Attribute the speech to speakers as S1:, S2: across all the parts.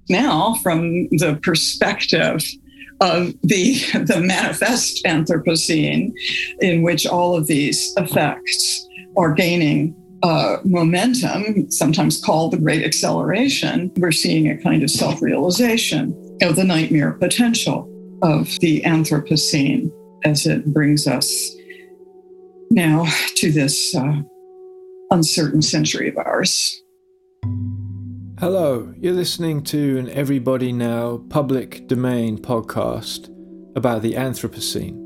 S1: now, from the perspective of the manifest Anthropocene, in which all of these effects are gaining momentum, sometimes called the Great Acceleration, we're seeing a kind of self-realization of the nightmare potential of the Anthropocene as it brings us now to this uncertain century of ours.
S2: Hello, you're listening to an Everybody Now public domain podcast about the Anthropocene.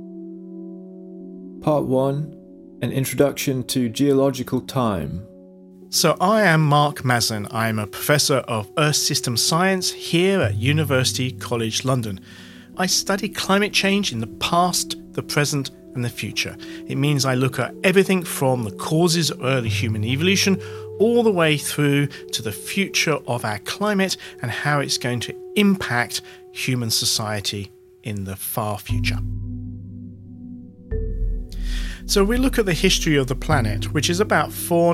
S2: Part 1, an introduction to geological time.
S3: So I am Mark Maslin. I'm a professor of Earth System Science here at University College London. I study climate change in the past, the present, and the future. It means I look at everything from the causes of early human evolution all the way through to the future of our climate and how it's going to impact human society in the far future. So we look at the history of the planet, which is about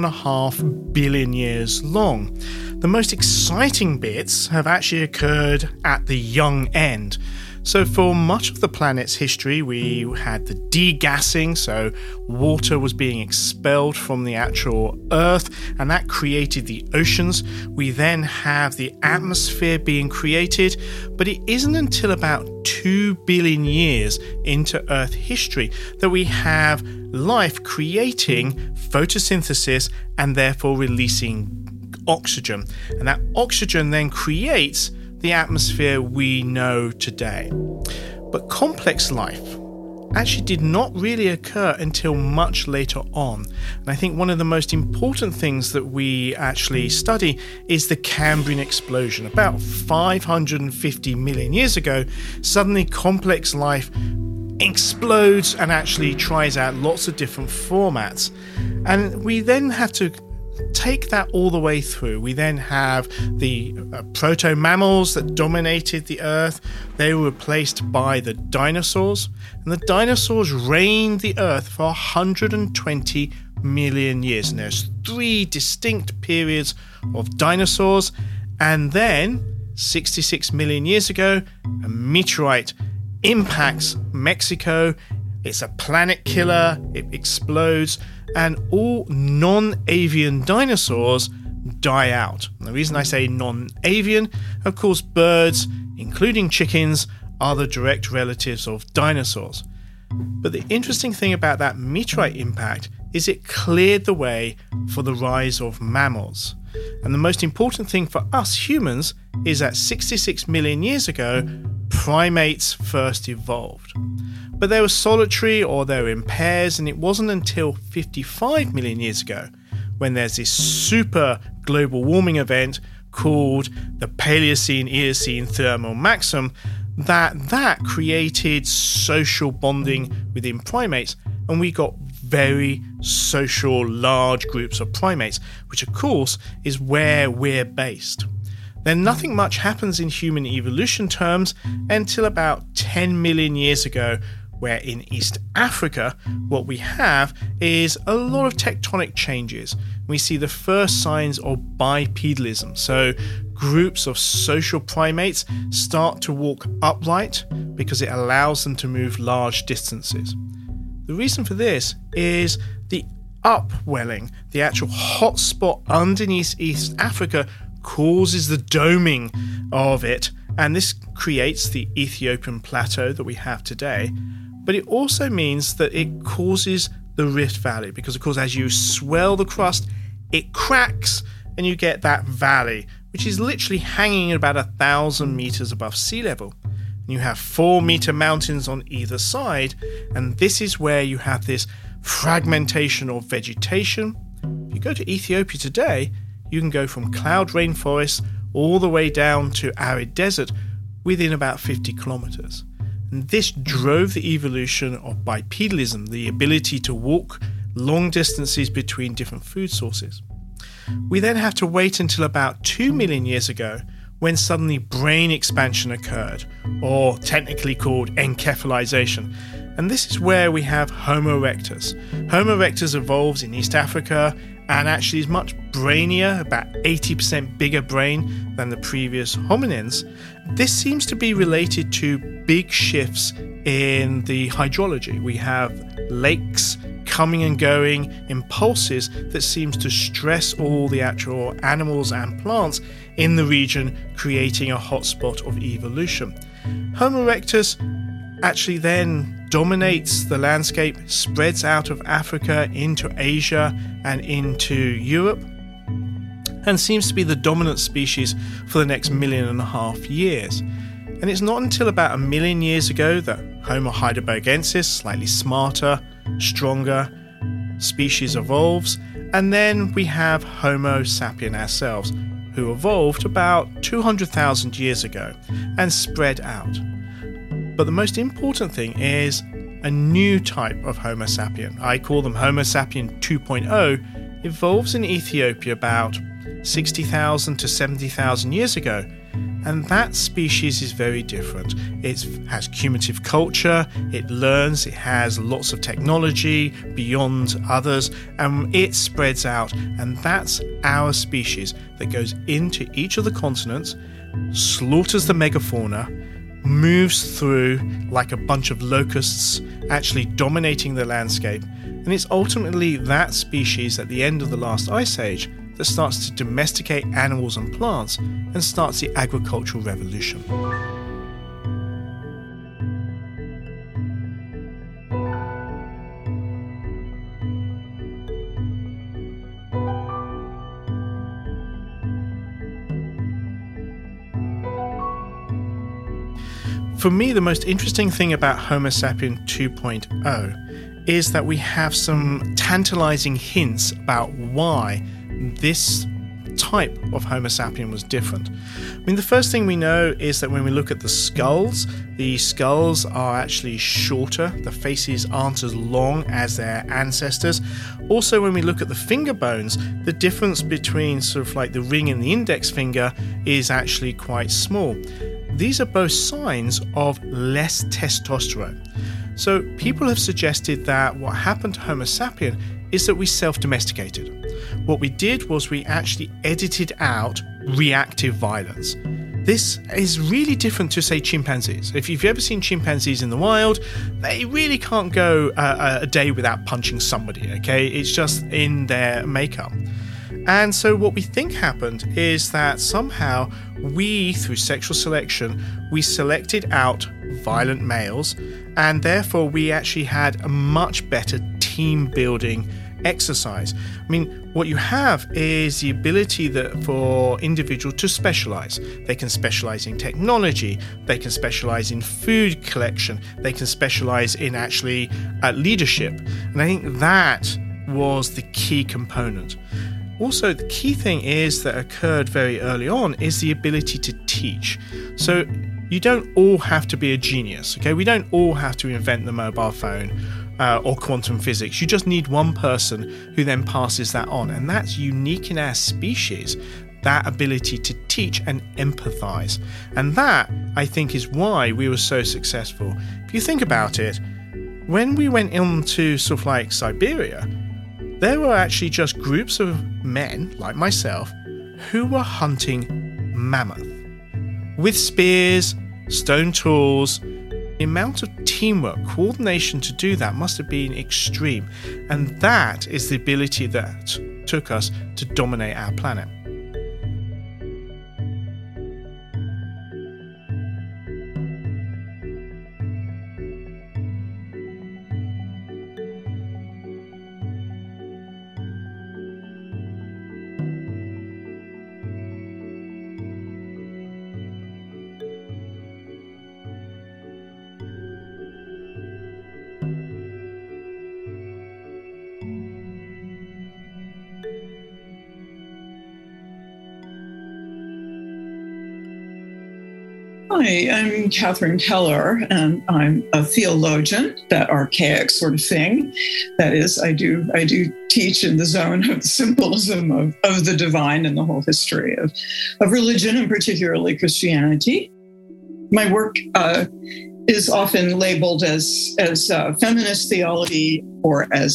S3: 4.5 billion years long. The most exciting bits have actually occurred at the young end. So for much of the planet's history, we had the degassing, so water was being expelled from the actual Earth, and that created the oceans. We then have the atmosphere being created, but it isn't until about 2 billion years into Earth history that we have life creating photosynthesis and therefore releasing oxygen. And that oxygen then creates the atmosphere we know today. But complex life actually did not really occur until much later on. And I think one of the most important things that we actually study is the Cambrian explosion. About 550 million years ago, suddenly complex life explodes and actually tries out lots of different formats. And we then have to take that all the way through. We then have the proto-mammals that dominated the Earth. They were replaced by the dinosaurs, and the dinosaurs reigned the Earth for 120 million years. And there's 3 distinct periods of dinosaurs, and then 66 million years ago, a meteorite impacts Mexico. It's a planet killer, it explodes, and all non-avian dinosaurs die out. And the reason I say non-avian, of course, birds, including chickens, are the direct relatives of dinosaurs. But the interesting thing about that meteorite impact is it cleared the way for the rise of mammals. And the most important thing for us humans is that 66 million years ago, primates first evolved. But they were solitary or they were in pairs, and it wasn't until 55 million years ago, when there's this super global warming event called the Paleocene-Eocene thermal maximum, that created social bonding within primates, and we got very social large groups of primates, which of course is where we're based. Then nothing much happens in human evolution terms until about 10 million years ago, where in East Africa, what we have is a lot of tectonic changes. We see the first signs of bipedalism. So groups of social primates start to walk upright because it allows them to move large distances. The reason for this is the upwelling, the actual hotspot underneath East Africa causes the doming of it, and this creates the Ethiopian plateau that we have today. But it also means that it causes the Rift Valley, because of course as you swell the crust, it cracks and you get that valley, which is literally hanging at about 1,000 meters above sea level. And you have 4-meter mountains on either side, and this is where you have this fragmentation of vegetation. If you go to Ethiopia today, you can go from cloud rainforest all the way down to arid desert within about 50 kilometers. And this drove the evolution of bipedalism, the ability to walk long distances between different food sources. We then have to wait until about 2 million years ago, when suddenly brain expansion occurred, or technically called encephalization. And this is where we have Homo erectus. Homo erectus evolves in East Africa, and actually is much brainier, about 80% bigger brain than the previous hominins. This seems to be related to big shifts in the hydrology. We have lakes coming and going in pulses that seems to stress all the actual animals and plants in the region, creating a hotspot of evolution. Homo erectus actually then dominates the landscape, spreads out of Africa into Asia and into Europe, and seems to be the dominant species for the next 1.5 million years. And it's not until about 1 million years ago that Homo heidelbergensis, slightly smarter, stronger species, evolves, and then we have Homo sapien ourselves, who evolved about 200,000 years ago and spread out. But the most important thing is a new type of Homo sapien. I call them Homo sapien 2.0, evolves in Ethiopia about 60,000 to 70,000 years ago. And that species is very different. It has cumulative culture, it learns, it has lots of technology beyond others, and it spreads out. And that's our species that goes into each of the continents, slaughters the megafauna, moves through like a bunch of locusts, actually dominating the landscape. And it's ultimately that species at the end of the last ice age that starts to domesticate animals and plants and starts the agricultural revolution. For me, the most interesting thing about Homo sapien 2.0 is that we have some tantalizing hints about why this type of Homo sapien was different. I mean, the first thing we know is that when we look at the skulls are actually shorter. The faces aren't as long as their ancestors. Also, when we look at the finger bones, the difference between sort of like the ring and the index finger is actually quite small. These are both signs of less testosterone. So people have suggested that what happened to Homo sapien is that we self-domesticated. What we did was we actually edited out reactive violence. This is really different to, say, chimpanzees. If you've ever seen chimpanzees in the wild, they really can't go a day without punching somebody, okay? It's just in their makeup. And so what we think happened is that somehow we, through sexual selection, we selected out violent males, and therefore we actually had a much better team building exercise. I mean, what you have is the ability that for individuals to specialize. They can specialize in technology, they can specialize in food collection, they can specialize in actually leadership. And I think that was the key component. Also, the key thing is that occurred very early on is the ability to teach. So you don't all have to be a genius, okay? We don't all have to invent the mobile phone or quantum physics. You just need one person who then passes that on. And that's unique in our species, that ability to teach and empathize. And that, I think, is why we were so successful. If you think about it, when we went into sort of like Siberia, there were actually just groups of men, like myself, who were hunting mammoth. With spears, stone tools, the amount of teamwork, coordination to do that must have been extreme. And that is the ability that took us to dominate our planet.
S1: Hi, I'm Catherine Keller, and I'm a theologian, that archaic sort of thing. That is, I do teach in the zone of the symbolism of the divine and the whole history of religion, and particularly Christianity. My work is often labeled as feminist theology or as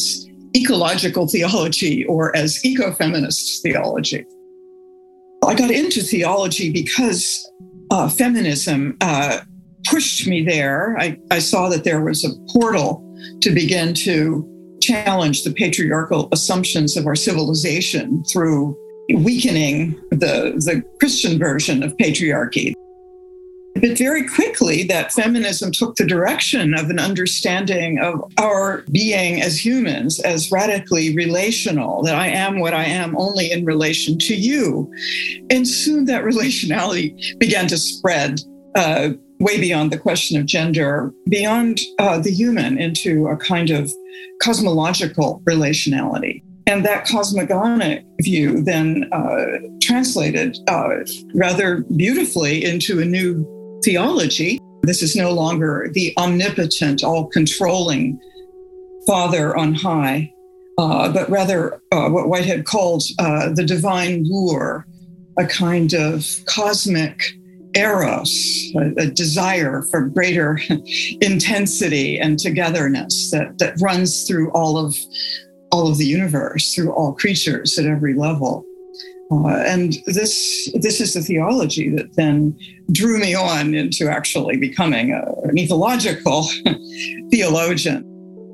S1: ecological theology or as ecofeminist theology. I got into theology because feminism pushed me there. I saw that there was a portal to begin to challenge the patriarchal assumptions of our civilization through weakening the Christian version of patriarchy. But very quickly, that feminism took the direction of an understanding of our being as humans as radically relational, that I am what I am only in relation to you. And soon that relationality began to spread way beyond the question of gender, beyond the human, into a kind of cosmological relationality. And that cosmogonic view then translated rather beautifully into a new theology. This is no longer the omnipotent, all-controlling Father on high, but rather what Whitehead called the divine lure, a kind of cosmic eros, a desire for greater intensity and togetherness that runs through all of the universe, through all creatures at every level. And this is the theology that then drew me on into actually becoming an ethological theologian.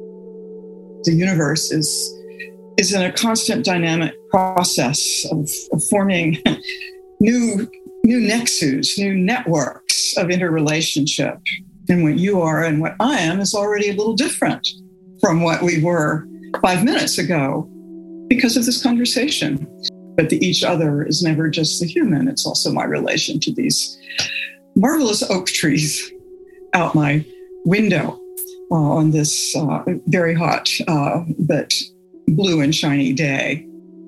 S1: The universe is in a constant dynamic process of forming new nexus, new networks of interrelationship. And what you are and what I am is already a little different from what we were 5 minutes ago because of this conversation. But the each other is never just the human. It's also my relation to these marvelous oak trees out my window on this very hot but blue and shiny day.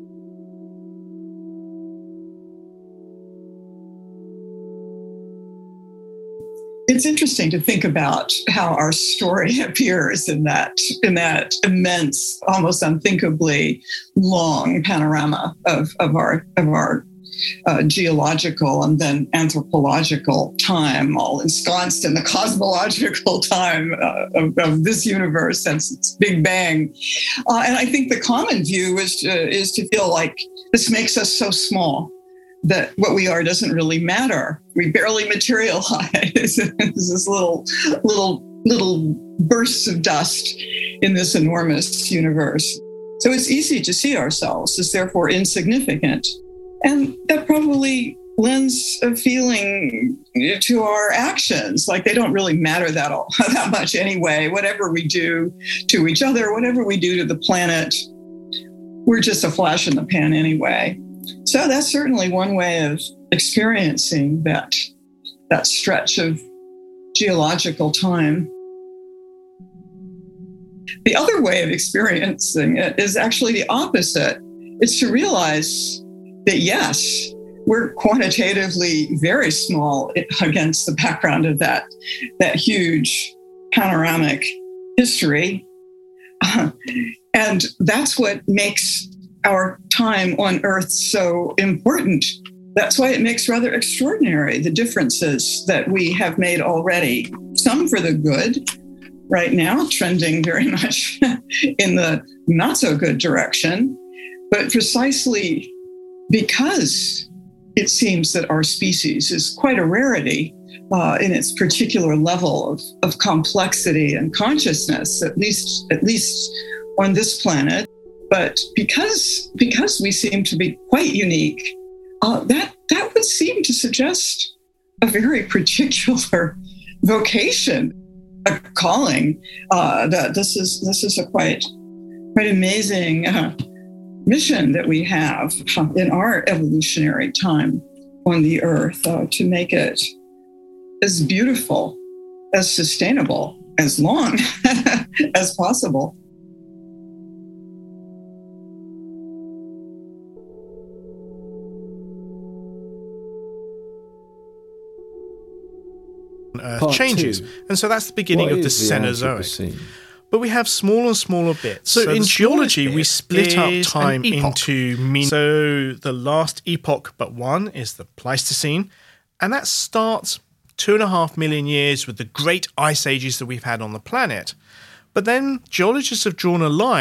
S1: It's interesting to think about how our story appears in that immense, almost unthinkably long panorama of our geological and then anthropological time, all ensconced in the cosmological time of this universe since its Big Bang. And I think the common view is to feel like this makes us so small that what we are doesn't really matter. We barely materialize. This little bursts of dust in this enormous universe. So it's easy to see ourselves as therefore insignificant. And that probably lends a feeling to our actions, like they don't really matter that much anyway. Whatever we do to each other, whatever we do to the planet, we're just a flash in the pan anyway. So that's certainly one way of experiencing that stretch of geological time. The other way of experiencing it is actually the opposite. It's to realize that, yes, we're quantitatively very small against the background of that huge panoramic history. And that's what makes our time on Earth so important. That's why it makes rather extraordinary the differences that we have made already. Some for the good, right now trending very much in the not so good direction, but precisely because it seems that our species is quite a rarity in its particular level of complexity and consciousness, at least on this planet. But because we seem to be quite unique, that would seem to suggest a very particular vocation, a calling. That this is a quite amazing mission that we have in our evolutionary time on the Earth to make it as beautiful, as sustainable, as long as possible.
S3: Earth changes. And so that's the beginning of the Cenozoic. But we have smaller and smaller bits. So in geology, we split up time into mini. So the last epoch but one is the Pleistocene. And that starts 2.5 million years with the great ice ages that we've had on the planet. But then geologists have drawn a line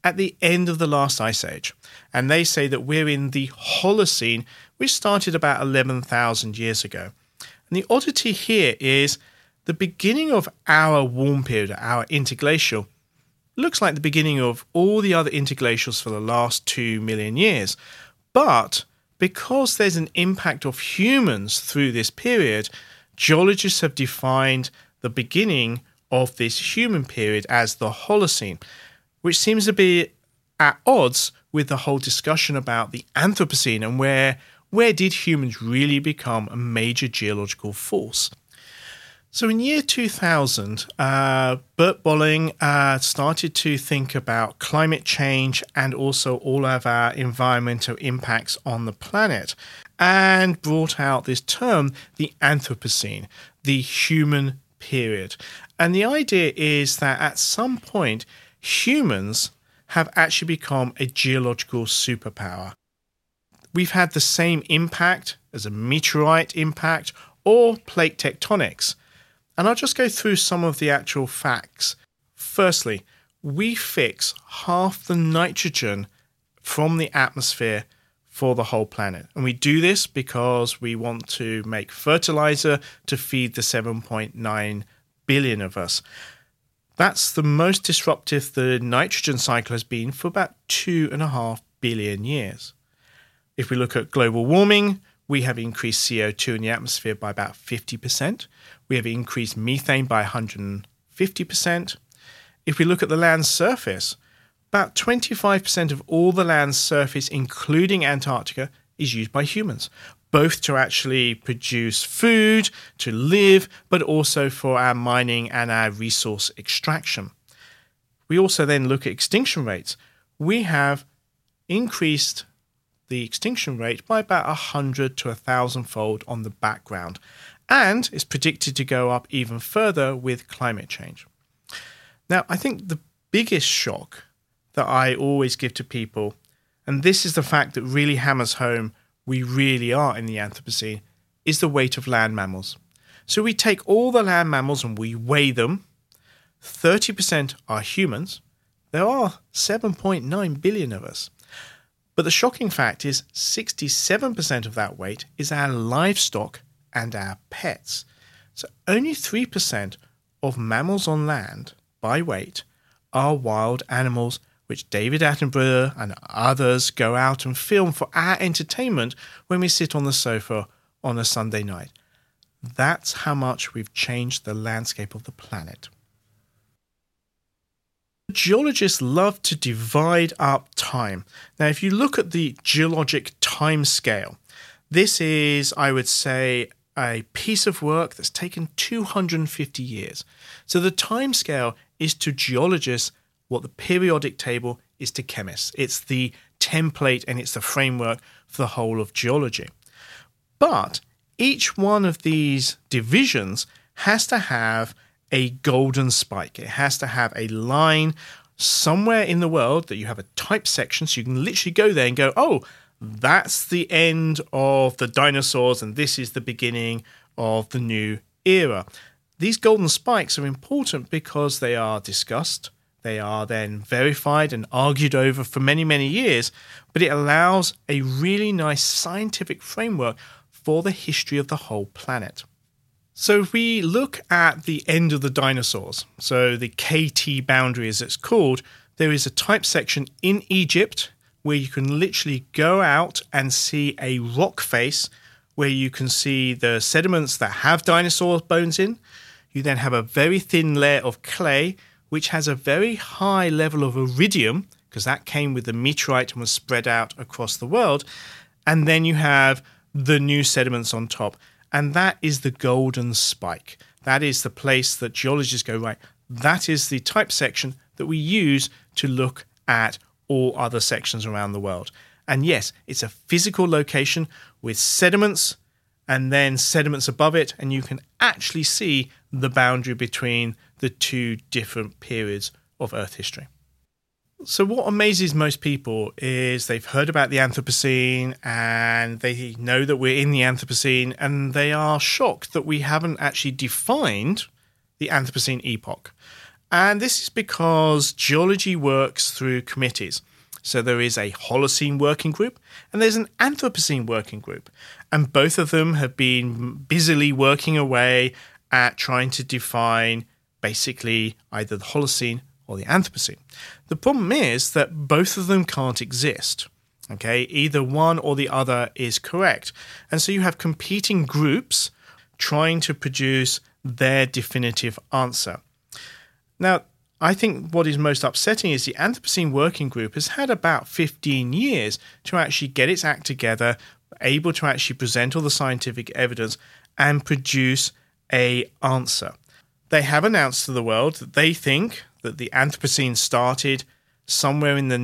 S3: at the end of the last ice age. And they say that we're in the Holocene, which started about 11,000 years ago. And the oddity here is the beginning of our warm period, our interglacial, looks like the beginning of all the other interglacials for the last 2 million years. But because there's an impact of humans through this period, geologists have defined the beginning of this human period as the Holocene, which seems to be at odds with the whole discussion about the Anthropocene and where did humans really become a major geological force. So in year 2000, Bert Bolling started to think about climate change and also all of our environmental impacts on the planet, and brought out this term, the Anthropocene, the human period. And the idea is that at some point, humans have actually become a geological superpower. We've had the same impact as a meteorite impact or plate tectonics. And I'll just go through some of the actual facts. Firstly, we fix half the nitrogen from the atmosphere for the whole planet. And we do this because we want to make fertilizer to feed the 7.9 billion of us. That's the most disruptive the nitrogen cycle has been for about 2.5 billion years. If we look at global warming, we have increased CO2 in the atmosphere by about 50%. We have increased methane by 150%. If we look at the land surface, about 25% of all the land surface, including Antarctica, is used by humans, both to actually produce food, to live, but also for our mining and our resource extraction. We also then look at extinction rates. We have increased the extinction rate by about 100 to 1,000-fold on the background, and it's predicted to go up even further with climate change. Now, I think the biggest shock that I always give to people, and this is the fact that really hammers home we really are in the Anthropocene, is the weight of land mammals. So we take all the land mammals and we weigh them. 30% are humans. There are 7.9 billion of us. But the shocking fact is 67% of that weight is our livestock and our pets. So only 3% of mammals on land by weight are wild animals, which David Attenborough and others go out and film for our entertainment when we sit on the sofa on a Sunday night. That's how much we've changed the landscape of the planet. Geologists love to divide up time. Now, if you look at the geologic time scale, this is, I would say, a piece of work that's taken 250 years. So the time scale is to geologists what the periodic table is to chemists. It's the template and it's the framework for the whole of geology. But each one of these divisions has to have a golden spike. It has to have a line somewhere in the world that you have a type section, so you can literally go there and go, oh, that's the end of the dinosaurs and this is the beginning of the new era. These golden spikes are important because they are discussed, they are then verified and argued over for many, many years, but it allows a really nice scientific framework for the history of the whole planet. So if we look at the end of the dinosaurs, so the KT boundary as it's called, there is a type section in Egypt where you can literally go out and see a rock face where you can see the sediments that have dinosaur bones in. You then have a very thin layer of clay which has a very high level of iridium because that came with the meteorite and was spread out across the world. And then you have the new sediments on top. And that is the golden spike. That is the place that geologists go, right, that is the type section that we use to look at all other sections around the world. And yes, it's a physical location with sediments and then sediments above it, and you can actually see the boundary between the two different periods of Earth history. So what amazes most people is they've heard about the Anthropocene and they know that we're in the Anthropocene, and they are shocked that we haven't actually defined the Anthropocene epoch. And this is because geology works through committees. So there is a Holocene working group and there's an Anthropocene working group. And both of them have been busily working away at trying to define basically either the Holocene or the Anthropocene. The problem is that both of them can't exist. Okay, either one or the other is correct. And so you have competing groups trying to produce their definitive answer. Now, I think what is most upsetting is the Anthropocene Working Group has had about 15 years to actually get its act together, able to actually present all the scientific evidence and produce an answer. They have announced to the world that they think that the Anthropocene started somewhere in the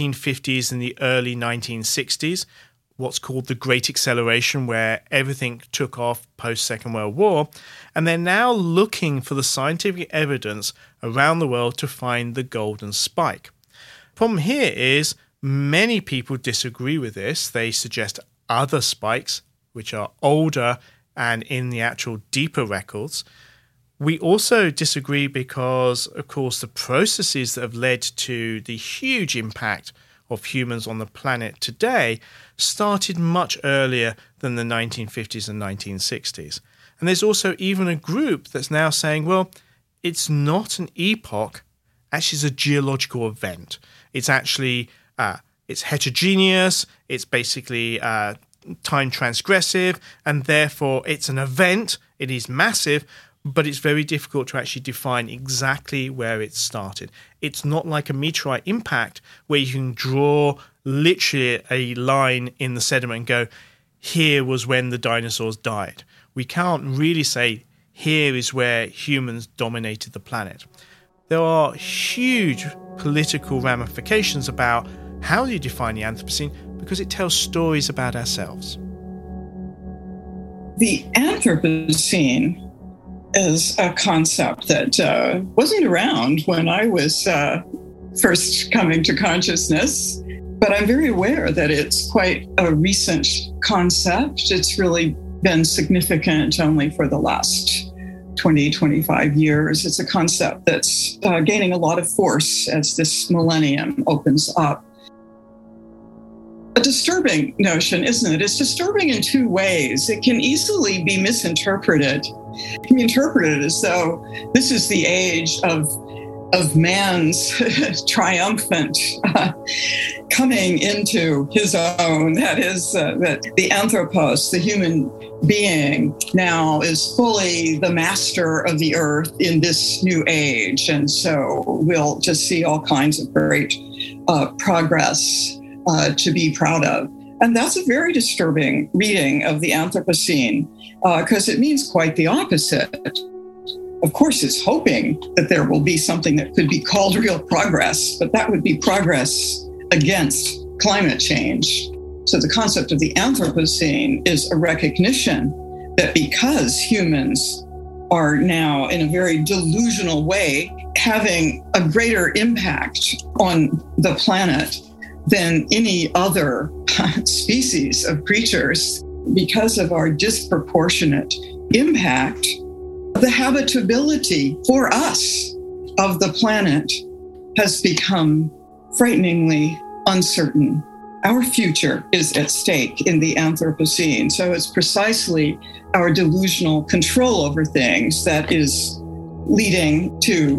S3: 1950s and the early 1960s, what's called the Great Acceleration, where everything took off post-Second World War, and they're now looking for the scientific evidence around the world to find the golden spike. The problem here is many people disagree with this. They suggest other spikes, which are older and in the actual deeper records. We also disagree because, of course, the processes that have led to the huge impact of humans on the planet today started much earlier than the 1950s and 1960s. And there's also even a group that's now saying, well, it's not an epoch, actually it's a geological event. It's actually, it's heterogeneous, it's basically time transgressive, and therefore it's an event, it is massive, but it's very difficult to actually define exactly where it started. It's not like a meteorite impact where you can draw literally a line in the sediment and go, here was when the dinosaurs died. We can't really say, here is where humans dominated the planet. There are huge political ramifications about how you define the Anthropocene because it tells stories about ourselves.
S1: The Anthropocene is a concept that wasn't around when I was first coming to consciousness, but I'm very aware that it's quite a recent concept. It's really been significant only for the last 20, 25 years. It's a concept that's gaining a lot of force as this millennium opens up. A disturbing notion, isn't it? It's disturbing in two ways. It can easily be misinterpreted. It can be interpreted as though this is the age of man's triumphant coming into his own. That is, that the anthropos, the human being, now is fully the master of the earth in this new age. And so we'll just see all kinds of great progress to be proud of. And that's a very disturbing reading of the Anthropocene because it means quite the opposite. Of course, it's hoping that there will be something that could be called real progress, but that would be progress against climate change. So the concept of the Anthropocene is a recognition that because humans are now in a very delusional way having a greater impact on the planet than any other species of creatures, because of our disproportionate impact, the habitability for us of the planet has become frighteningly uncertain. Our future is at stake in the Anthropocene. So it's precisely our delusional control over things that is leading to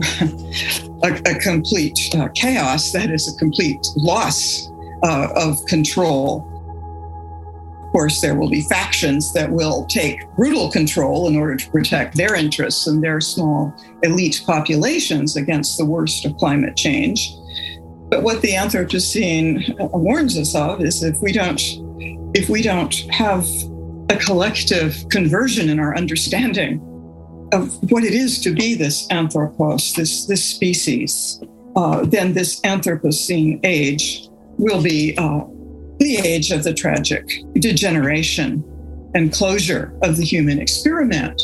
S1: a complete chaos, that is a complete loss of control. Of course, there will be factions that will take brutal control in order to protect their interests and their small elite populations against the worst of climate change. But what the Anthropocene warns us of is if we don't have a collective conversion in our understanding of what it is to be this anthropos, this species, then this Anthropocene age will be the age of the tragic degeneration and closure of the human experiment.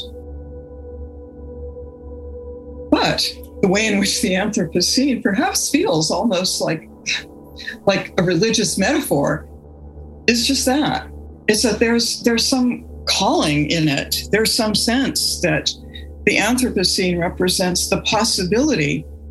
S1: But the way in which the Anthropocene perhaps feels almost like a religious metaphor is just that. It's that there's some calling in it. There's some sense that the Anthropocene represents the possibility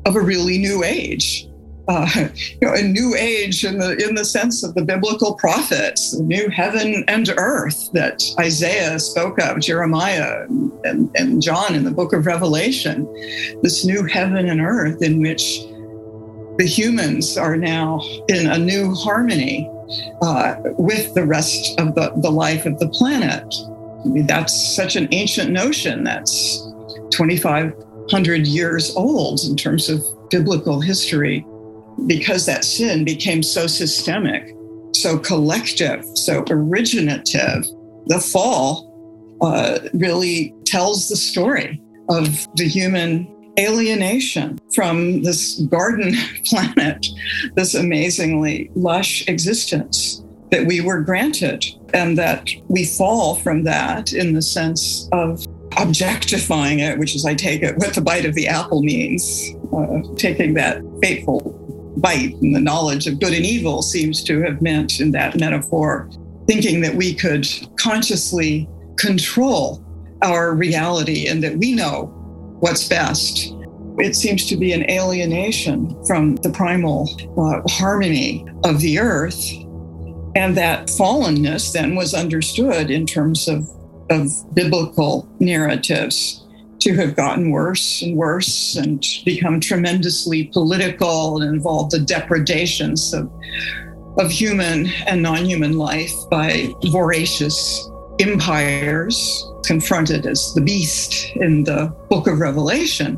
S1: of a really new age. A new age in the sense of the biblical prophets, the new heaven and earth that Isaiah spoke of, Jeremiah and John in the book of Revelation. This new heaven and earth in which the humans are now in a new harmony with the rest of the life of the planet. I mean, that's such an ancient notion. That's 2,500 years old in terms of biblical history. Because that sin became so systemic, so collective, so originative, the fall really tells the story of the human alienation from this garden planet, this amazingly lush existence that we were granted, and that we fall from that in the sense of objectifying it, which is, I take it, what the bite of the apple means, taking that fateful bite and the knowledge of good and evil seems to have meant in that metaphor, thinking that we could consciously control our reality and that we know what's best. It seems to be an alienation from the primal harmony of the earth. And that fallenness then was understood in terms of biblical narratives to have gotten worse and worse and become tremendously political and involve the depredations of human and non-human life by voracious empires confronted as the beast in the book of Revelation.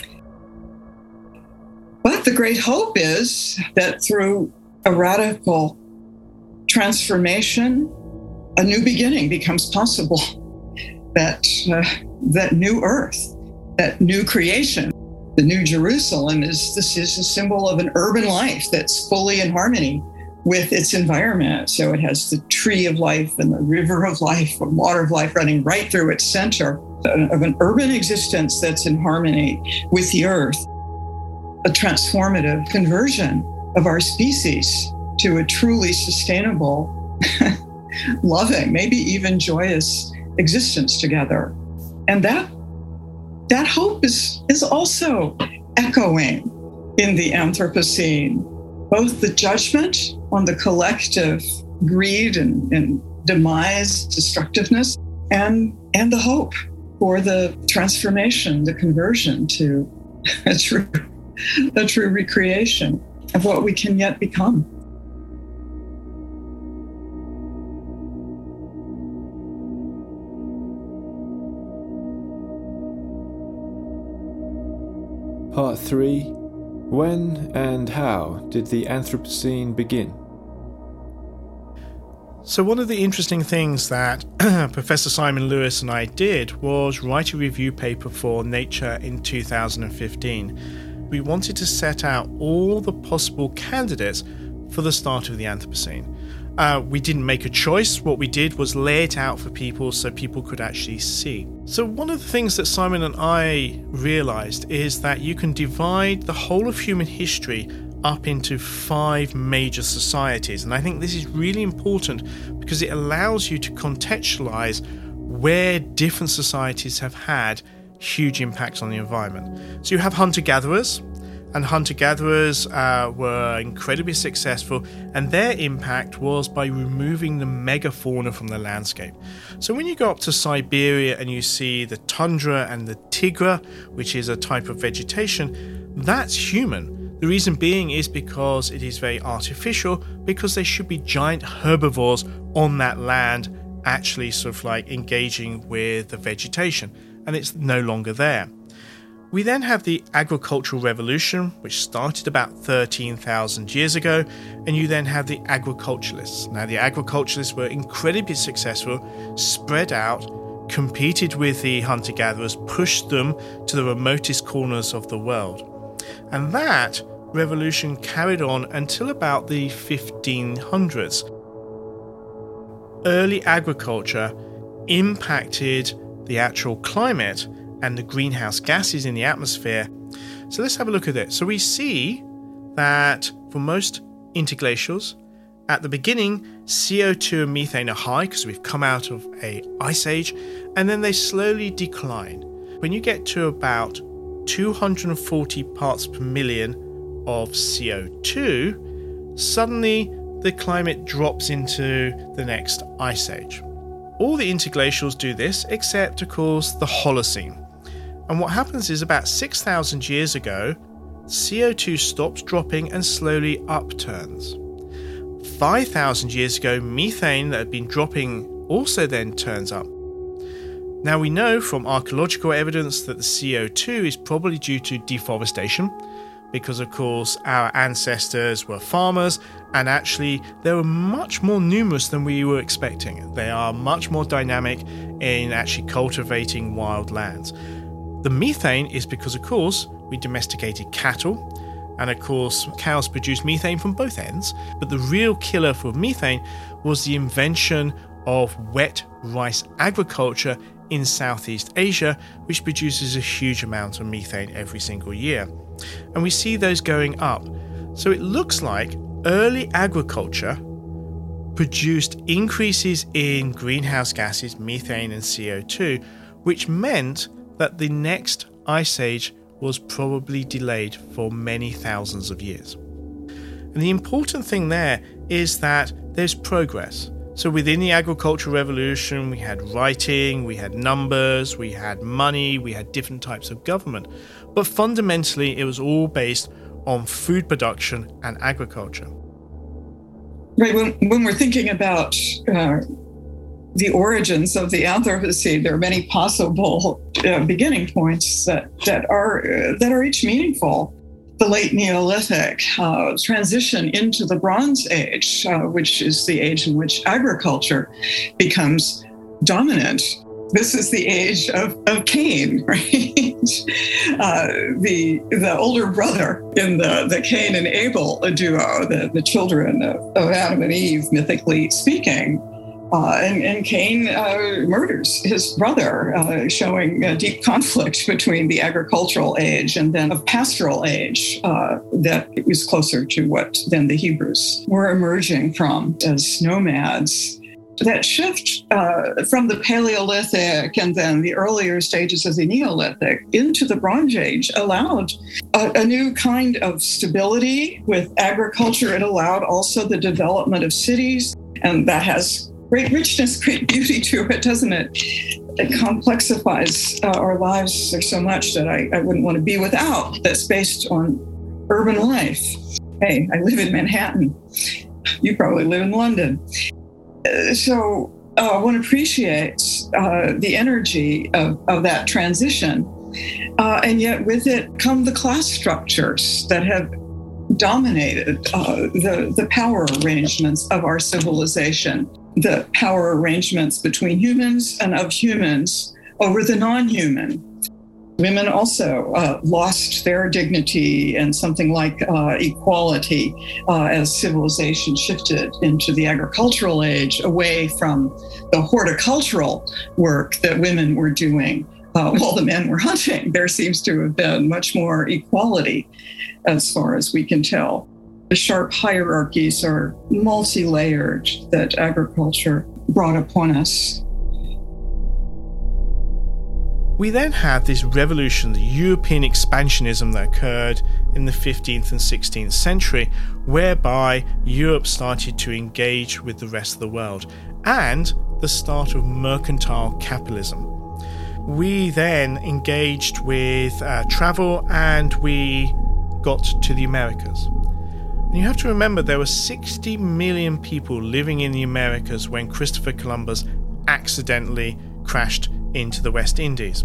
S1: But the great hope is that through a radical transformation, a new beginning becomes possible. That new earth, that new creation, the new Jerusalem is a symbol of an urban life that's fully in harmony with its environment. So it has the tree of life and the river of life and water of life running right through its center of an urban existence that's in harmony with the earth. A transformative conversion of our species to a truly sustainable, loving, maybe even joyous existence together. And that hope is also echoing in the Anthropocene, both the judgment on the collective greed and demise, destructiveness, and the hope for the transformation, the conversion to a true recreation of what we can yet become.
S2: Part 3. When and how did the Anthropocene begin?
S3: So one of the interesting things that Professor Simon Lewis and I did was write a review paper for Nature in 2015. We wanted to set out all the possible candidates for the start of the Anthropocene. We didn't make a choice. What we did was lay it out for people so people could actually see. So one of the things that Simon and I realized is that you can divide the whole of human history up into 5 major societies. And I think this is really important because it allows you to contextualize where different societies have had huge impacts on the environment. So you have hunter-gatherers, and hunter-gatherers were incredibly successful, and their impact was by removing the megafauna from the landscape. So when you go up to Siberia and you see the tundra and the tigra, which is a type of vegetation, that's human. The reason being is because it is very artificial, because there should be giant herbivores on that land actually sort of like engaging with the vegetation, and it's no longer there. We then have the agricultural revolution, which started about 13,000 years ago, and you then have the agriculturalists. Now, the agriculturalists were incredibly successful, spread out, competed with the hunter-gatherers, pushed them to the remotest corners of the world. And that revolution carried on until about the 1500s. Early agriculture impacted the actual climate and the greenhouse gases in the atmosphere. So let's have a look at it. So we see that for most interglacials, at the beginning, CO2 and methane are high because we've come out of an ice age, and then they slowly decline. When you get to about 240 parts per million of CO2, suddenly the climate drops into the next ice age. All the interglacials do this except, of course, the Holocene. And what happens is about 6,000 years ago, CO2 stops dropping and slowly upturns. 5,000 years ago, methane that had been dropping also then turns up. Now we know from archaeological evidence that the CO2 is probably due to deforestation, because of course our ancestors were farmers and actually they were much more numerous than we were expecting. They are much more dynamic in actually cultivating wild lands. The methane is because of course we domesticated cattle, and of course cows produce methane from both ends, but the real killer for methane was the invention of wet rice agriculture in Southeast Asia, which produces a huge amount of methane every single year. And we see those going up. So it looks like early agriculture produced increases in greenhouse gases, methane and CO2, which meant that the next ice age was probably delayed for many thousands of years. And the important thing there is that there's progress. So within the agricultural revolution, we had writing, we had numbers, we had money, we had different types of government. But fundamentally, it was all based on food production and agriculture.
S1: Right. When we're thinking about the origins of the Anthropocene, there are many possible beginning points that are each meaningful. The late Neolithic transition into the Bronze Age, which is the age in which agriculture becomes dominant. This is the age of Cain, right? The older brother in the Cain and Abel duo, the children of Adam and Eve, mythically speaking. And Cain murders his brother, showing a deep conflict between the agricultural age and then a pastoral age that was closer to what then the Hebrews were emerging from as nomads. That shift from the Paleolithic and then the earlier stages of the Neolithic into the Bronze Age allowed a new kind of stability with agriculture. It allowed also the development of cities, and that has great richness, great beauty to it, doesn't it? It complexifies our lives. There's so much that I wouldn't want to be without that's based on urban life. Hey, I live in Manhattan. You probably live in London. So one appreciates the energy of that transition. And yet with it come the class structures that have dominated the power arrangements of our civilization, the power arrangements between humans and of humans over the non-human. Women also lost their dignity and something like equality as civilization shifted into the agricultural age, away from the horticultural work that women were doing while the men were hunting. There seems to have been much more equality as far as we can tell. The sharp hierarchies are multi-layered that agriculture brought upon us.
S3: We then had this revolution, the European expansionism that occurred in the 15th and 16th century, whereby Europe started to engage with the rest of the world, and the start of mercantile capitalism. We then engaged with travel, and we got to the Americas. And you have to remember there were 60 million people living in the Americas when Christopher Columbus accidentally crashed into the West Indies.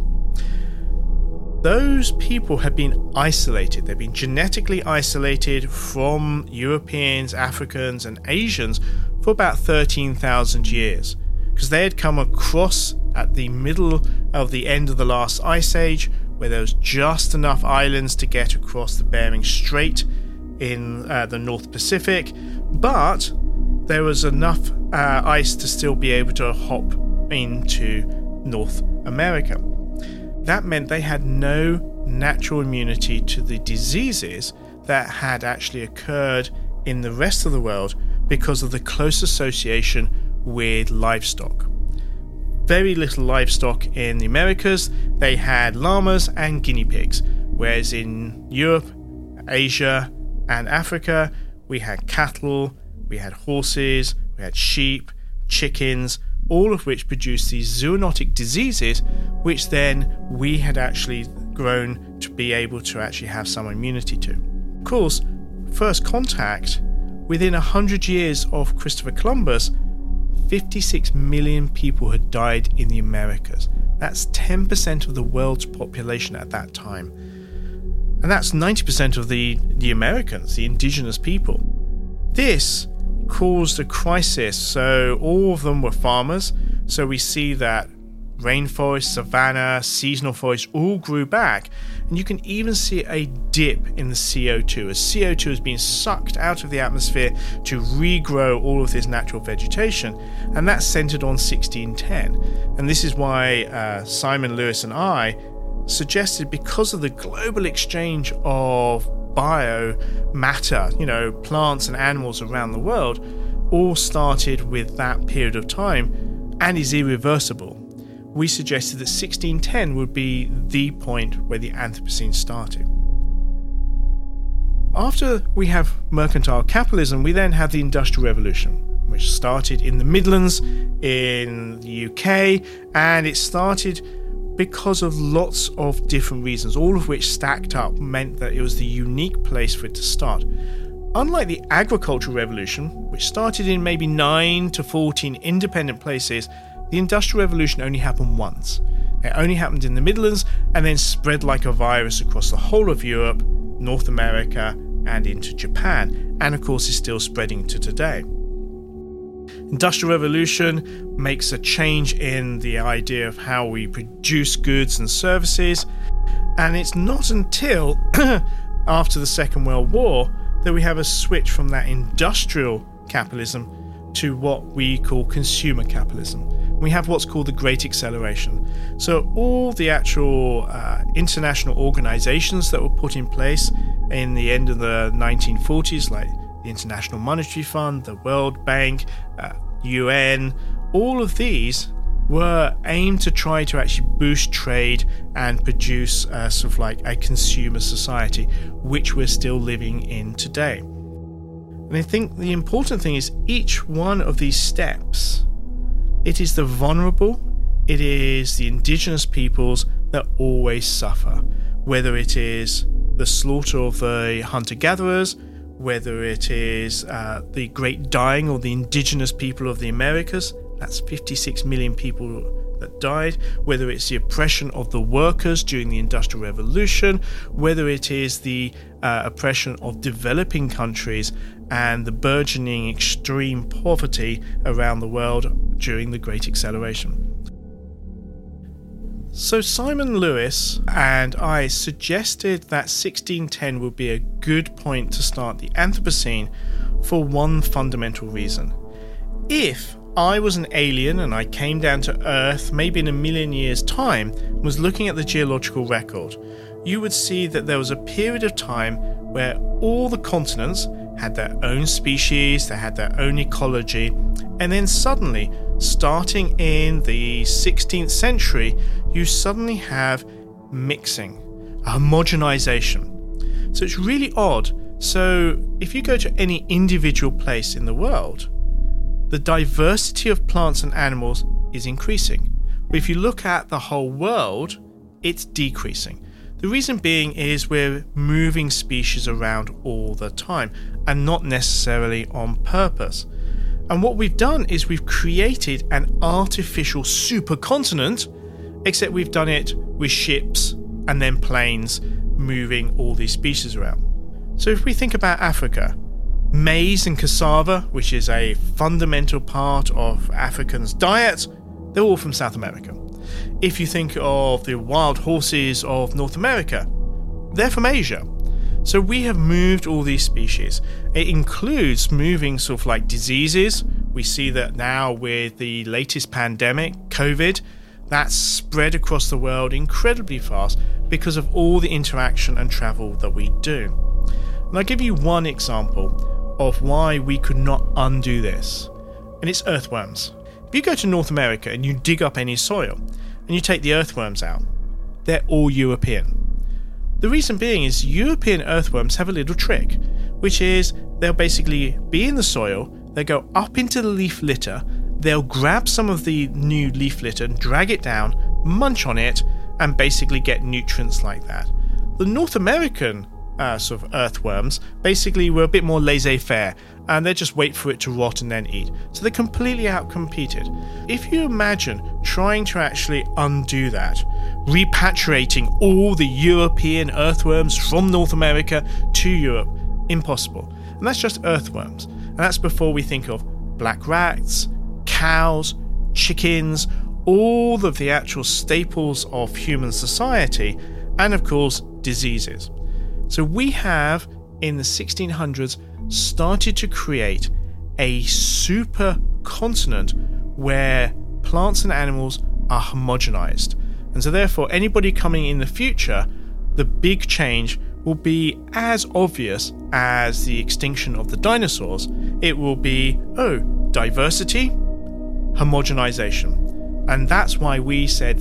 S3: Those people had been isolated. They'd been genetically isolated from Europeans, Africans, and Asians for about 13,000 years, because they had come across at the middle of the end of the last ice age, where there was just enough islands to get across the Bering Strait in the North Pacific, but there was enough ice to still be able to hop into North America. That meant they had no natural immunity to the diseases that had actually occurred in the rest of the world because of the close association with livestock. Very little livestock in the Americas. They had llamas and guinea pigs, whereas in Europe, Asia, and Africa, we had cattle, we had horses, we had sheep, chickens, all of which produced these zoonotic diseases, which then we had actually grown to be able to actually have some immunity to. Of course, first contact, within 100 years of Christopher Columbus, 56 million people had died in the Americas. That's 10% of the world's population at that time. And that's 90% of the Americans, the indigenous people. This caused a crisis. So all of them were farmers. So we see that rainforest, savanna, seasonal forests all grew back. And you can even see a dip in the CO2 as CO2 is being sucked out of the atmosphere to regrow all of this natural vegetation. And that's centered on 1610. And this is why Simon Lewis and I suggested, because of the global exchange of biomatter, plants and animals around the world, all started with that period of time and is irreversible. We suggested that 1610 would be the point where the Anthropocene started. After we have mercantile capitalism, we then have the Industrial Revolution, which started in the Midlands in the UK, and it started because of lots of different reasons, all of which stacked up meant that it was the unique place for it to start. Unlike the Agricultural Revolution, which started in maybe 9 to 14 independent places, the Industrial Revolution only happened once. It only happened in the Midlands and then spread like a virus across the whole of Europe, North America, and into Japan, and of course is still spreading to today. Industrial Revolution makes a change in the idea of how we produce goods and services, and it's not until after the Second World War that we have a switch from that industrial capitalism to what we call consumer capitalism. We have what's called the Great Acceleration. So all the actual international organizations that were put in place in the end of the 1940s, like the International Monetary Fund, the World Bank, UN, all of these were aimed to try to actually boost trade and produce sort of like a consumer society, which we're still living in today. And I think the important thing is each one of these steps, it is the vulnerable, it is the indigenous peoples that always suffer, whether it is the slaughter of the hunter-gatherers, whether it is the great dying of the indigenous people of the Americas, that's 56 million people that died, whether it's the oppression of the workers during the Industrial Revolution, whether it is the oppression of developing countries and the burgeoning extreme poverty around the world during the Great Acceleration. So Simon Lewis and I suggested that 1610 would be a good point to start the Anthropocene for one fundamental reason. If I was an alien and I came down to Earth maybe in 1 million years' time and was looking at the geological record, you would see that there was a period of time where all the continents had their own species, they had their own ecology, and then suddenly, starting in the 16th century, you suddenly have mixing, a homogenization. So it's really odd. So if you go to any individual place in the world, the diversity of plants and animals is increasing. But if you look at the whole world, it's decreasing. The reason being is we're moving species around all the time and not necessarily on purpose. And what we've done is we've created an artificial supercontinent, except we've done it with ships and then planes moving all these species around. So if we think about Africa, maize and cassava, which is a fundamental part of Africans' diet, they're all from South America. If you think of the wild horses of North America, they're from Asia. So we have moved all these species. It includes moving sort of like diseases. We see that now with the latest pandemic, COVID, that's spread across the world incredibly fast because of all the interaction and travel that we do. And I'll give you one example of why we could not undo this, and it's earthworms. If you go to North America and you dig up any soil and you take the earthworms out, they're all European. The reason being is European earthworms have a little trick, which is they'll basically be in the soil, they'll go up into the leaf litter, they'll grab some of the new leaf litter and drag it down, munch on it, and basically get nutrients like that. The North American sort of earthworms basically were a bit more laissez-faire, and they just wait for it to rot and then eat. So they're completely outcompeted. If you imagine trying to actually undo that, repatriating all the European earthworms from North America to Europe, impossible. And that's just earthworms. And that's before we think of black rats, cows, chickens, all of the actual staples of human society, and of course, diseases. So we have, in the 1600s, started to create a super continent where plants and animals are homogenized. And so therefore, anybody coming in the future, the big change will be as obvious as the extinction of the dinosaurs. It will be, diversity, homogenization. And that's why we said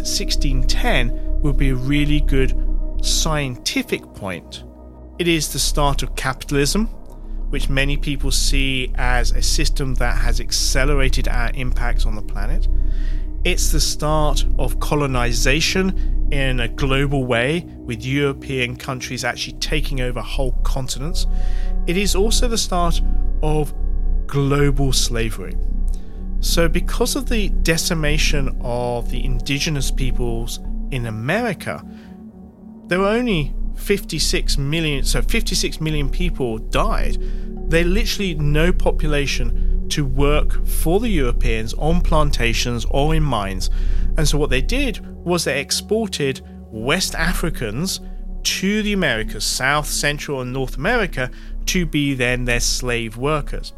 S3: 1610 will be a really good scientific point. It is the start of capitalism, which many people see as a system that has accelerated our impact on the planet. It's the start of colonization in a global way, with European countries actually taking over whole continents. It is also the start of global slavery. So because of the decimation of the indigenous peoples in America, there were only 56 million people died. They literally no population to work for the Europeans on plantations or in mines. And so what they did was they exported West Africans to the Americas, South, Central and North America, to be then their slave workers.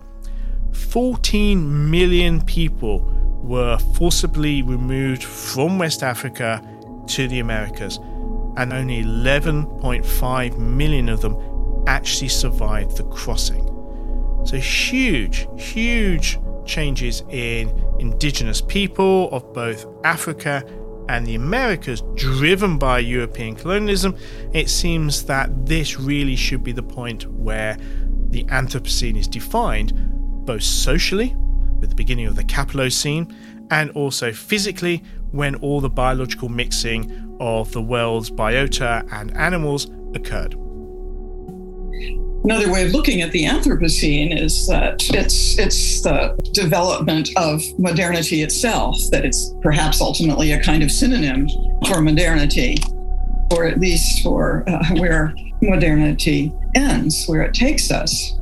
S3: 14 million people were forcibly removed from West Africa to the Americas, and only 11.5 million of them actually survived the crossing. So huge changes in indigenous people of both Africa and the Americas, driven by European colonialism. It seems that this really should be the point where the Anthropocene is defined, both socially, with the beginning of the Capilocene, and also physically, when all the biological mixing of the world's biota and animals occurred.
S1: Another way of looking at the Anthropocene is that it's the development of modernity itself, that it's perhaps ultimately a kind of synonym for modernity, or at least for where modernity ends, where it takes us.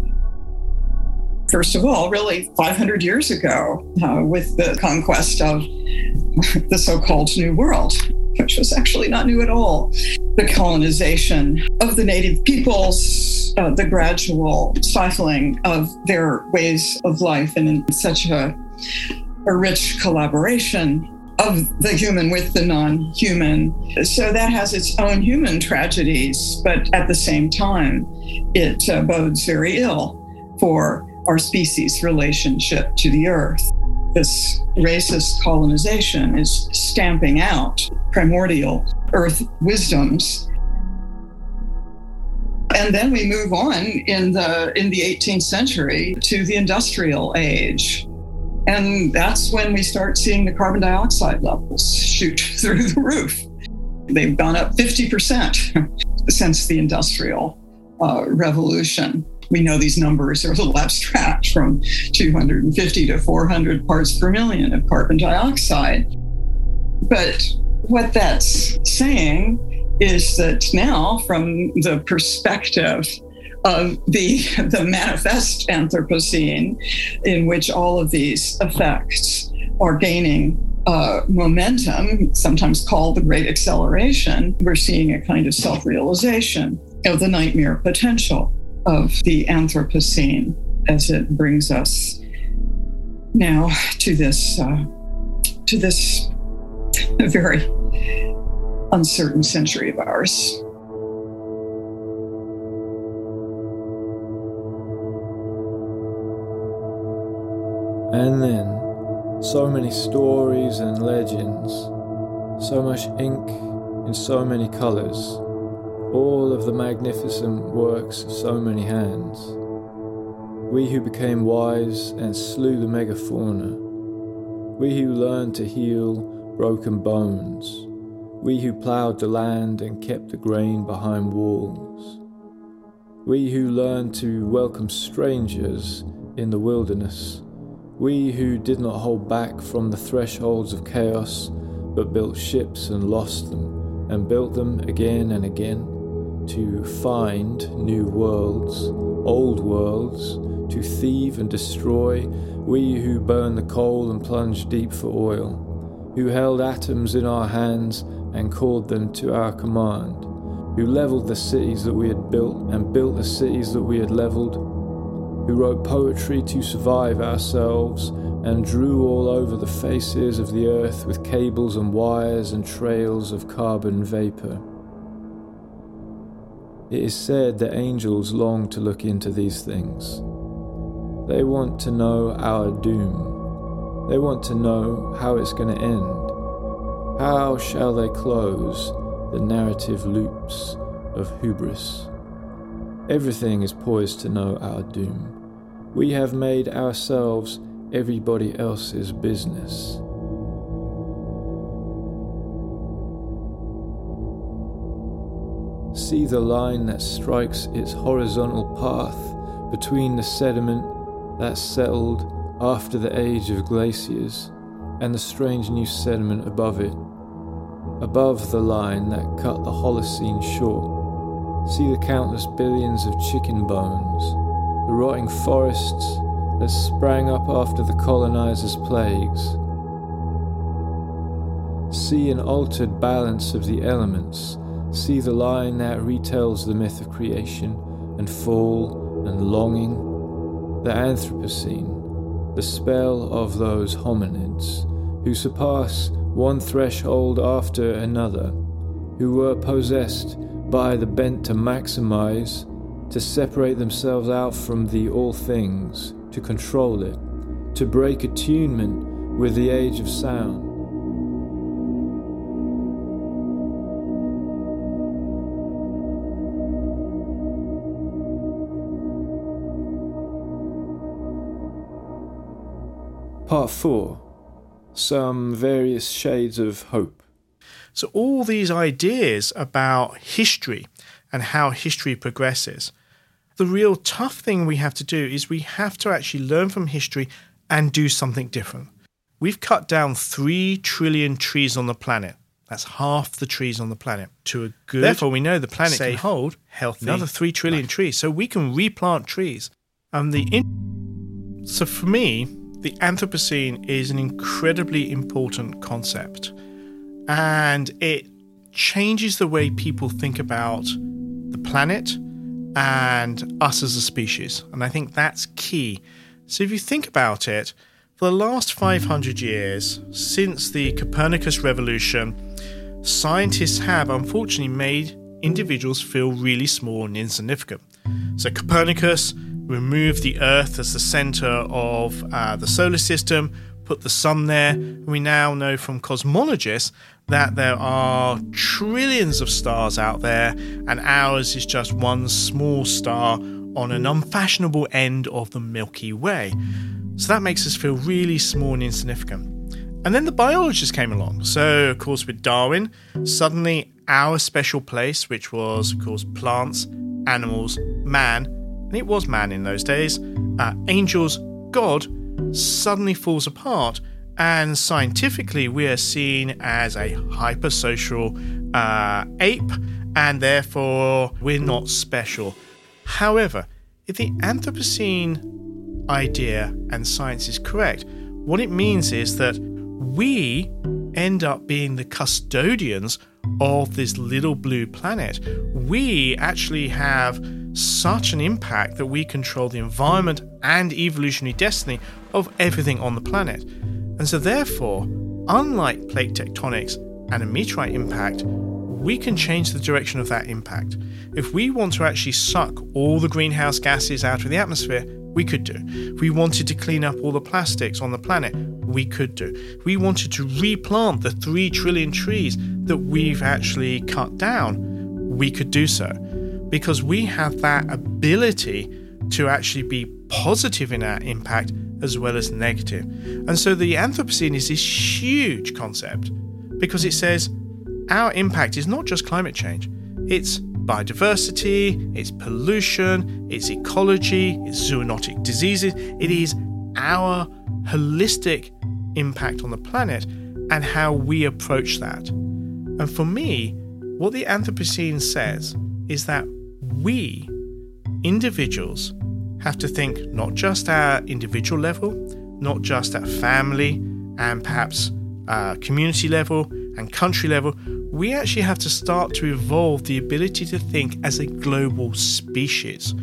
S1: First of all, really 500 years ago, with the conquest of the so-called New World, which was actually not new at all. The colonization of the native peoples, the gradual stifling of their ways of life, and in such a rich collaboration of the human with the non-human. So that has its own human tragedies, but at the same time, it bodes very ill for our species' relationship to the earth. This racist colonization is stamping out primordial earth wisdoms. And then we move on in the 18th century to the industrial age. And that's when we start seeing the carbon dioxide levels shoot through the roof. They've gone up 50% since the Industrial Revolution. We know these numbers are a little abstract, from 250 to 400 parts per million of carbon dioxide. But what that's saying is that now, from the perspective of the manifest Anthropocene, in which all of these effects are gaining momentum, sometimes called the Great Acceleration, we're seeing a kind of self-realization of the nightmare potential of the Anthropocene as it brings us now to this very uncertain century of ours.
S2: And then, so many stories and legends, so much ink in so many colors, all of the magnificent works of so many hands. We who became wise and slew the megafauna. We who learned to heal broken bones. We who ploughed the land and kept the grain behind walls. We who learned to welcome strangers in the wilderness. We who did not hold back from the thresholds of chaos, but built ships and lost them, and built them again and again, to find new worlds, old worlds, to thieve and destroy. We who burned the coal and plunged deep for oil, who held atoms in our hands and called them to our command, who leveled the cities that we had built and built the cities that we had leveled, who wrote poetry to survive ourselves and drew all over the faces of the earth with cables and wires and trails of carbon vapor. It is said that angels long to look into these things. They want to know our doom. They want to know how it's going to end. How shall they close the narrative loops of hubris? Everything is poised to know our doom. We have made ourselves everybody else's business. See the line that strikes its horizontal path between the sediment that settled after the age of glaciers and the strange new sediment above it, above the line that cut the Holocene short. See the countless billions of chicken bones, the rotting forests that sprang up after the colonizers' plagues. See an altered balance of the elements. See the line that retells the myth of creation and fall and longing. The Anthropocene, the spell of those hominids who surpass one threshold after another, who were possessed by the bent to maximize, to separate themselves out from the all things, to control it, to break attunement with the age of sound. Part 4. Some various shades of hope.
S3: So all these ideas about history and how history progresses, the real tough thing we have to do is we have to actually learn from history and do something different. We've cut down 3 trillion trees on the planet. That's half the trees on the planet. To a good, therefore, we know the planet can hold healthy another 3 trillion trees. So we can replant trees. So for me, the Anthropocene is an incredibly important concept, and it changes the way people think about the planet and us as a species, and I think that's key. So if you think about it, for the last 500 years, since the Copernicus revolution, scientists have unfortunately made individuals feel really small and insignificant. So Copernicus removed the Earth as the center of the solar system, put the sun there. We now know from cosmologists that there are trillions of stars out there, and ours is just one small star on an unfashionable end of the Milky Way. So that makes us feel really small and insignificant. And then the biologists came along. So, of course, with Darwin, suddenly our special place, which was, of course, plants, animals, man, and it was man in those days, angels, God, suddenly falls apart, and scientifically we are seen as a hypersocial ape, and therefore we're not special. However, if the Anthropocene idea and science is correct, what it means is that we end up being the custodians of this little blue planet. We actually have such an impact that we control the environment and evolutionary destiny of everything on the planet. And so therefore, unlike plate tectonics and a meteorite impact, we can change the direction of that impact. If we want to actually suck all the greenhouse gases out of the atmosphere, we could do. If we wanted to clean up all the plastics on the planet, we could do. If we wanted to replant the 3 trillion trees that we've actually cut down, we could do so, because we have that ability to actually be positive in our impact as well as negative. And so the Anthropocene is this huge concept because it says our impact is not just climate change. It's biodiversity, it's pollution, it's ecology, it's zoonotic diseases. It is our holistic impact on the planet and how we approach that. And for me, what the Anthropocene says is that we, individuals, have to think not just at individual level, not just at family and perhaps community level and country level. We actually have to start to evolve the ability to think as a global species.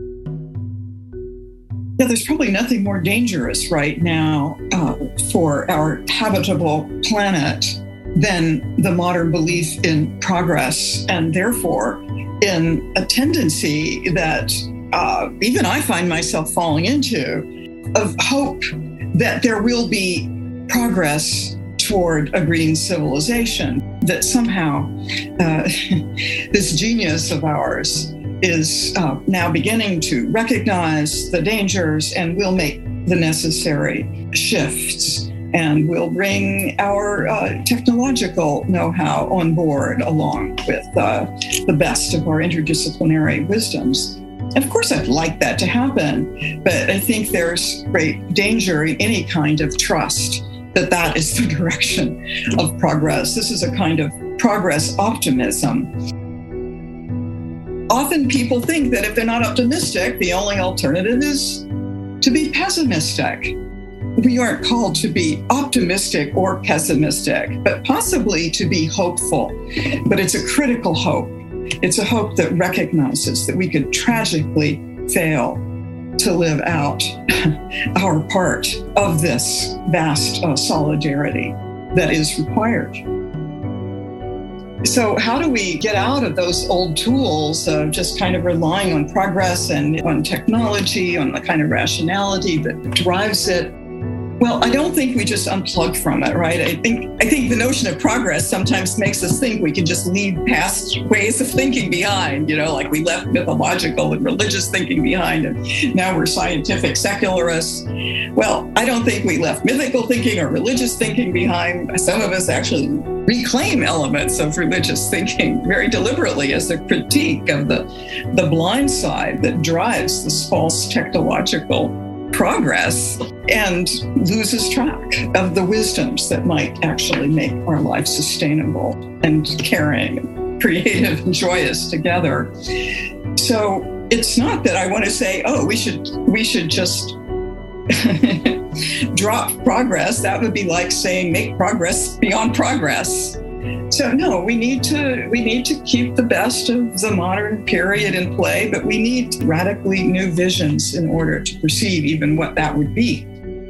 S1: Yeah, there's probably nothing more dangerous right now for our habitable planet than the modern belief in progress, and therefore in a tendency that even I find myself falling into, of hope that there will be progress toward a green civilization, that somehow this genius of ours is now beginning to recognize the dangers and will make the necessary shifts, and will bring our technological know-how on board along with the best of our interdisciplinary wisdoms. And of course, I'd like that to happen, but I think there's great danger in any kind of trust that that is the direction of progress. This is a kind of progress optimism. Often people think that if they're not optimistic, the only alternative is to be pessimistic. We aren't called to be optimistic or pessimistic, but possibly to be hopeful. But it's a critical hope. It's a hope that recognizes that we could tragically fail to live out our part of this vast solidarity that is required. So how do we get out of those old tools of just kind of relying on progress and on technology, on the kind of rationality that drives it? Well, I don't think we just unplug from it, right? I think the notion of progress sometimes makes us think we can just leave past ways of thinking behind, like we left mythological and religious thinking behind, and now we're scientific secularists. Well, I don't think we left mythical thinking or religious thinking behind. Some of us actually reclaim elements of religious thinking very deliberately as a critique of the blind side that drives this false technological progress and loses track of the wisdoms that might actually make our life sustainable and caring and creative and joyous together. So it's not that I want to say, we should just drop progress. That would be like saying make progress beyond progress. So no, we need to keep the best of the modern period in play, but we need radically new visions in order to perceive even what that would be.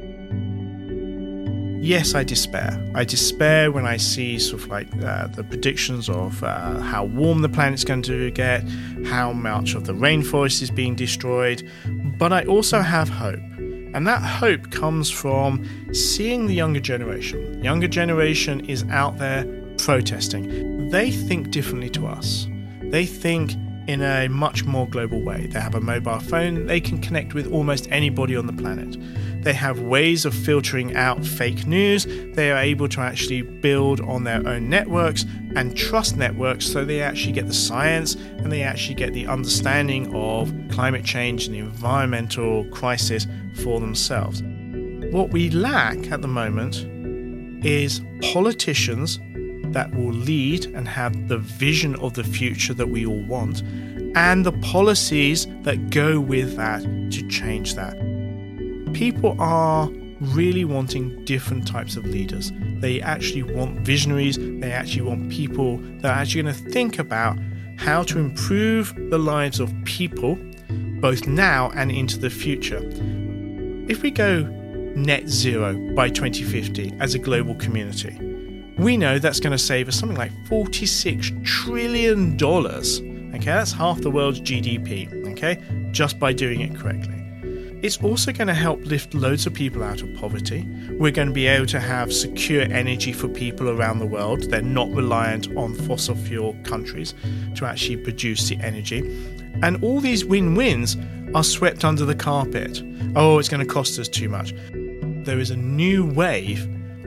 S3: Yes, I despair. I despair when I see sort of like the predictions of how warm the planet's going to get, how much of the rainforest is being destroyed, but I also have hope. And that hope comes from seeing the younger generation. The younger generation is out there protesting. They think differently to us. They think in a much more global way. They have a mobile phone. They can connect with almost anybody on the planet. They have ways of filtering out fake news. They are able to actually build on their own networks and trust networks, so they actually get the science and they actually get the understanding of climate change and the environmental crisis for themselves. What we lack at the moment is politicians that will lead and have the vision of the future that we all want, and the policies that go with that to change that. People are really wanting different types of leaders. They actually want visionaries. They actually want people that are actually going to think about how to improve the lives of people, both now and into the future. If we go net zero by 2050 as a global community, we know that's going to save us something like $46 trillion. Okay, that's half the world's GDP, okay, just by doing it correctly. it's also going to help lift loads of people out of poverty. We're going to be able to have secure energy for people around the world. They're not reliant on fossil fuel countries to actually produce the energy. And all these win-wins are swept under the carpet. Oh, it's going to cost us too much. There is a new wave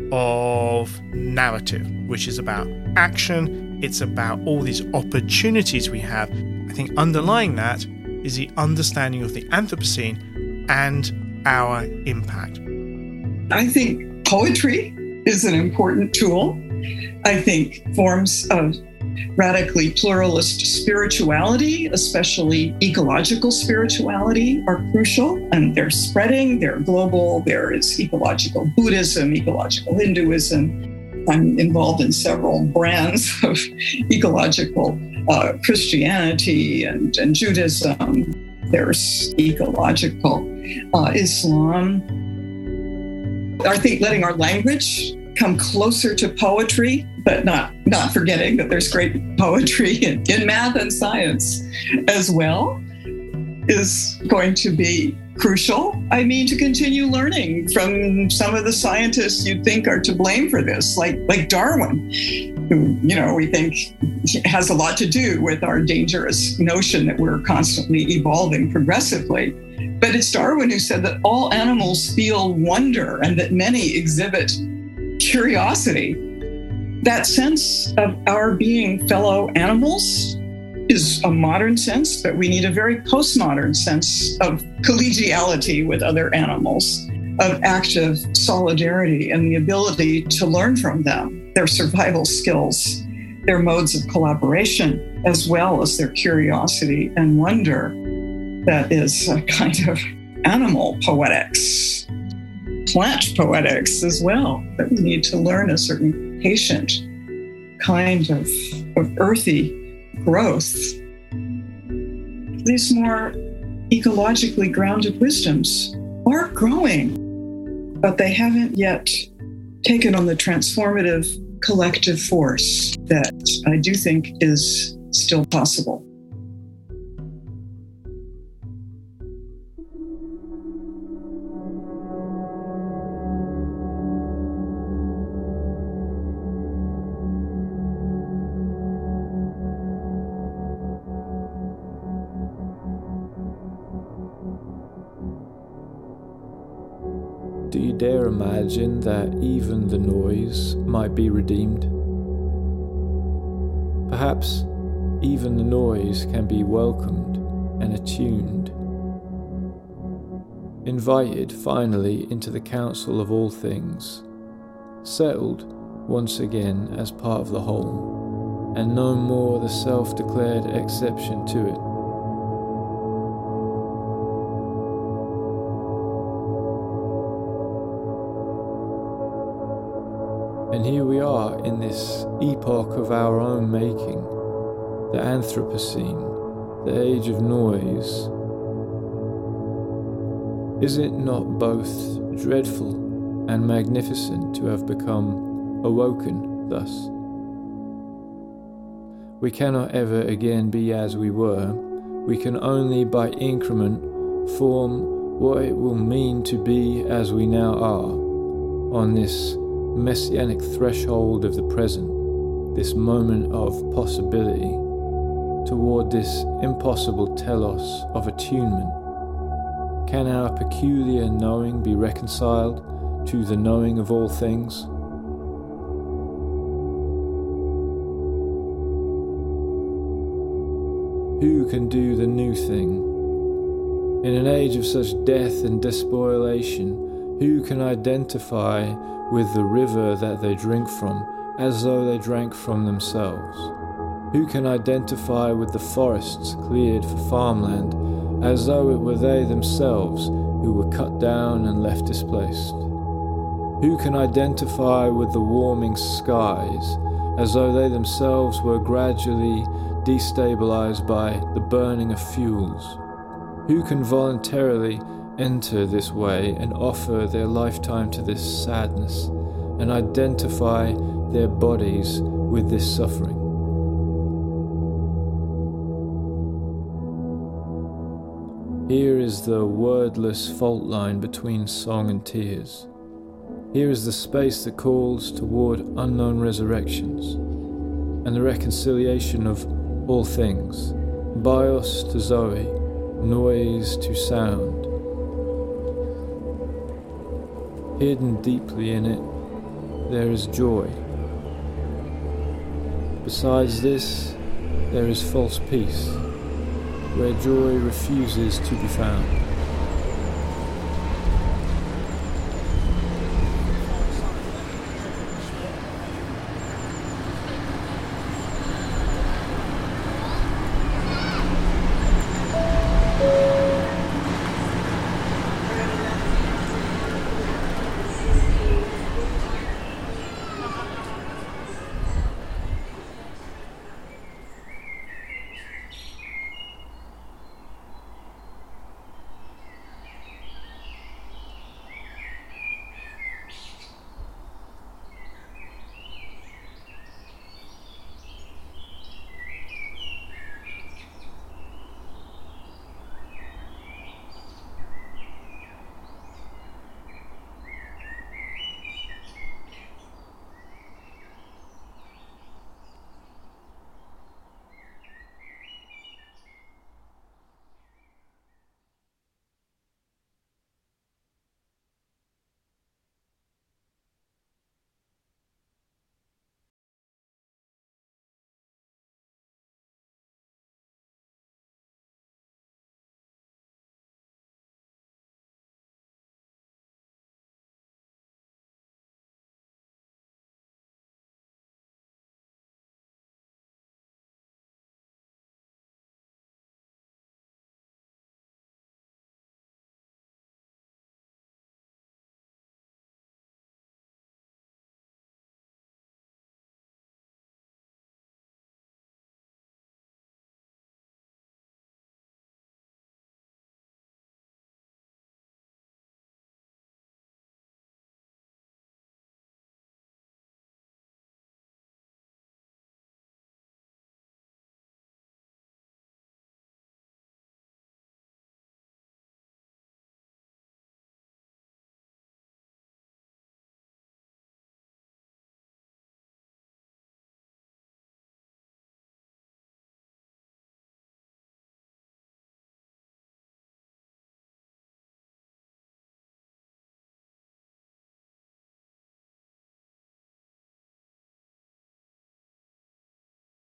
S3: of narrative, which is about action. It's about all these opportunities we have. I think underlying that is the understanding of the Anthropocene and our impact.
S1: I think poetry is an important tool. I think forms of radically pluralist spirituality, especially ecological spirituality, are crucial, and they're spreading, they're global. There is ecological Buddhism, ecological Hinduism. I'm involved in several brands of ecological Christianity and Judaism. There's ecological Islam. I think letting our language come closer to poetry, but not forgetting that there's great poetry in math and science as well, is going to be crucial. I mean, to continue learning from some of the scientists you'd think are to blame for this, like Darwin, who, we think has a lot to do with our dangerous notion that we're constantly evolving progressively. But it's Darwin who said that all animals feel wonder and that many exhibit curiosity. That sense of our being fellow animals is a modern sense, but we need a very postmodern sense of collegiality with other animals, of active solidarity and the ability to learn from them, their survival skills, their modes of collaboration, as well as their curiosity and wonder. That is a kind of animal poetics, plant poetics as well, that we need to learn a certain patient kind of earthy growth. These more ecologically grounded wisdoms are growing, but they haven't yet taken on the transformative collective force that I do think is still possible.
S2: Do you dare imagine that even the noise might be redeemed? Perhaps even the noise can be welcomed and attuned, invited finally into the council of all things, settled once again as part of the whole, and no more the self-declared exception to it. And here we are in this epoch of our own making, the Anthropocene, the age of noise. Is it not both dreadful and magnificent to have become awoken thus? We cannot ever again be as we were. We can only by increment form what it will mean to be as we now are, on this messianic threshold of the present, this moment of possibility, toward this impossible telos of attunement. Can our peculiar knowing be reconciled to the knowing of all things? Who can do the new thing? In an age of such death and despoliation, who can identify with the river that they drink from as though they drank from themselves? Who can identify with the forests cleared for farmland as though it were they themselves who were cut down and left displaced? Who can identify with the warming skies as though they themselves were gradually destabilized by the burning of fuels? Who can voluntarily enter this way and offer their lifetime to this sadness and identify their bodies with this suffering? Here is the wordless fault line between song and tears. Here is the space that calls toward unknown resurrections and the reconciliation of all things, bios to Zoe, noise to sound. Hidden deeply in it, there is joy. Besides this, there is false peace, where joy refuses to be found.